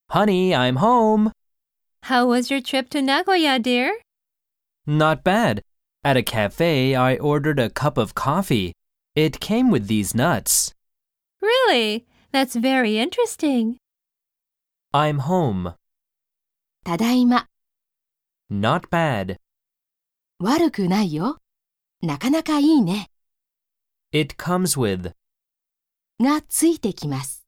Honey, I'm home. How was your trip to Nagoya, dear? Not bad. At a cafe, I ordered a cup of coffee. It came with these nuts. Really? That's very interesting. I'm home. ただいま。 Not bad. 悪くないよ。なかなかいいね。 It comes with. がついてきます。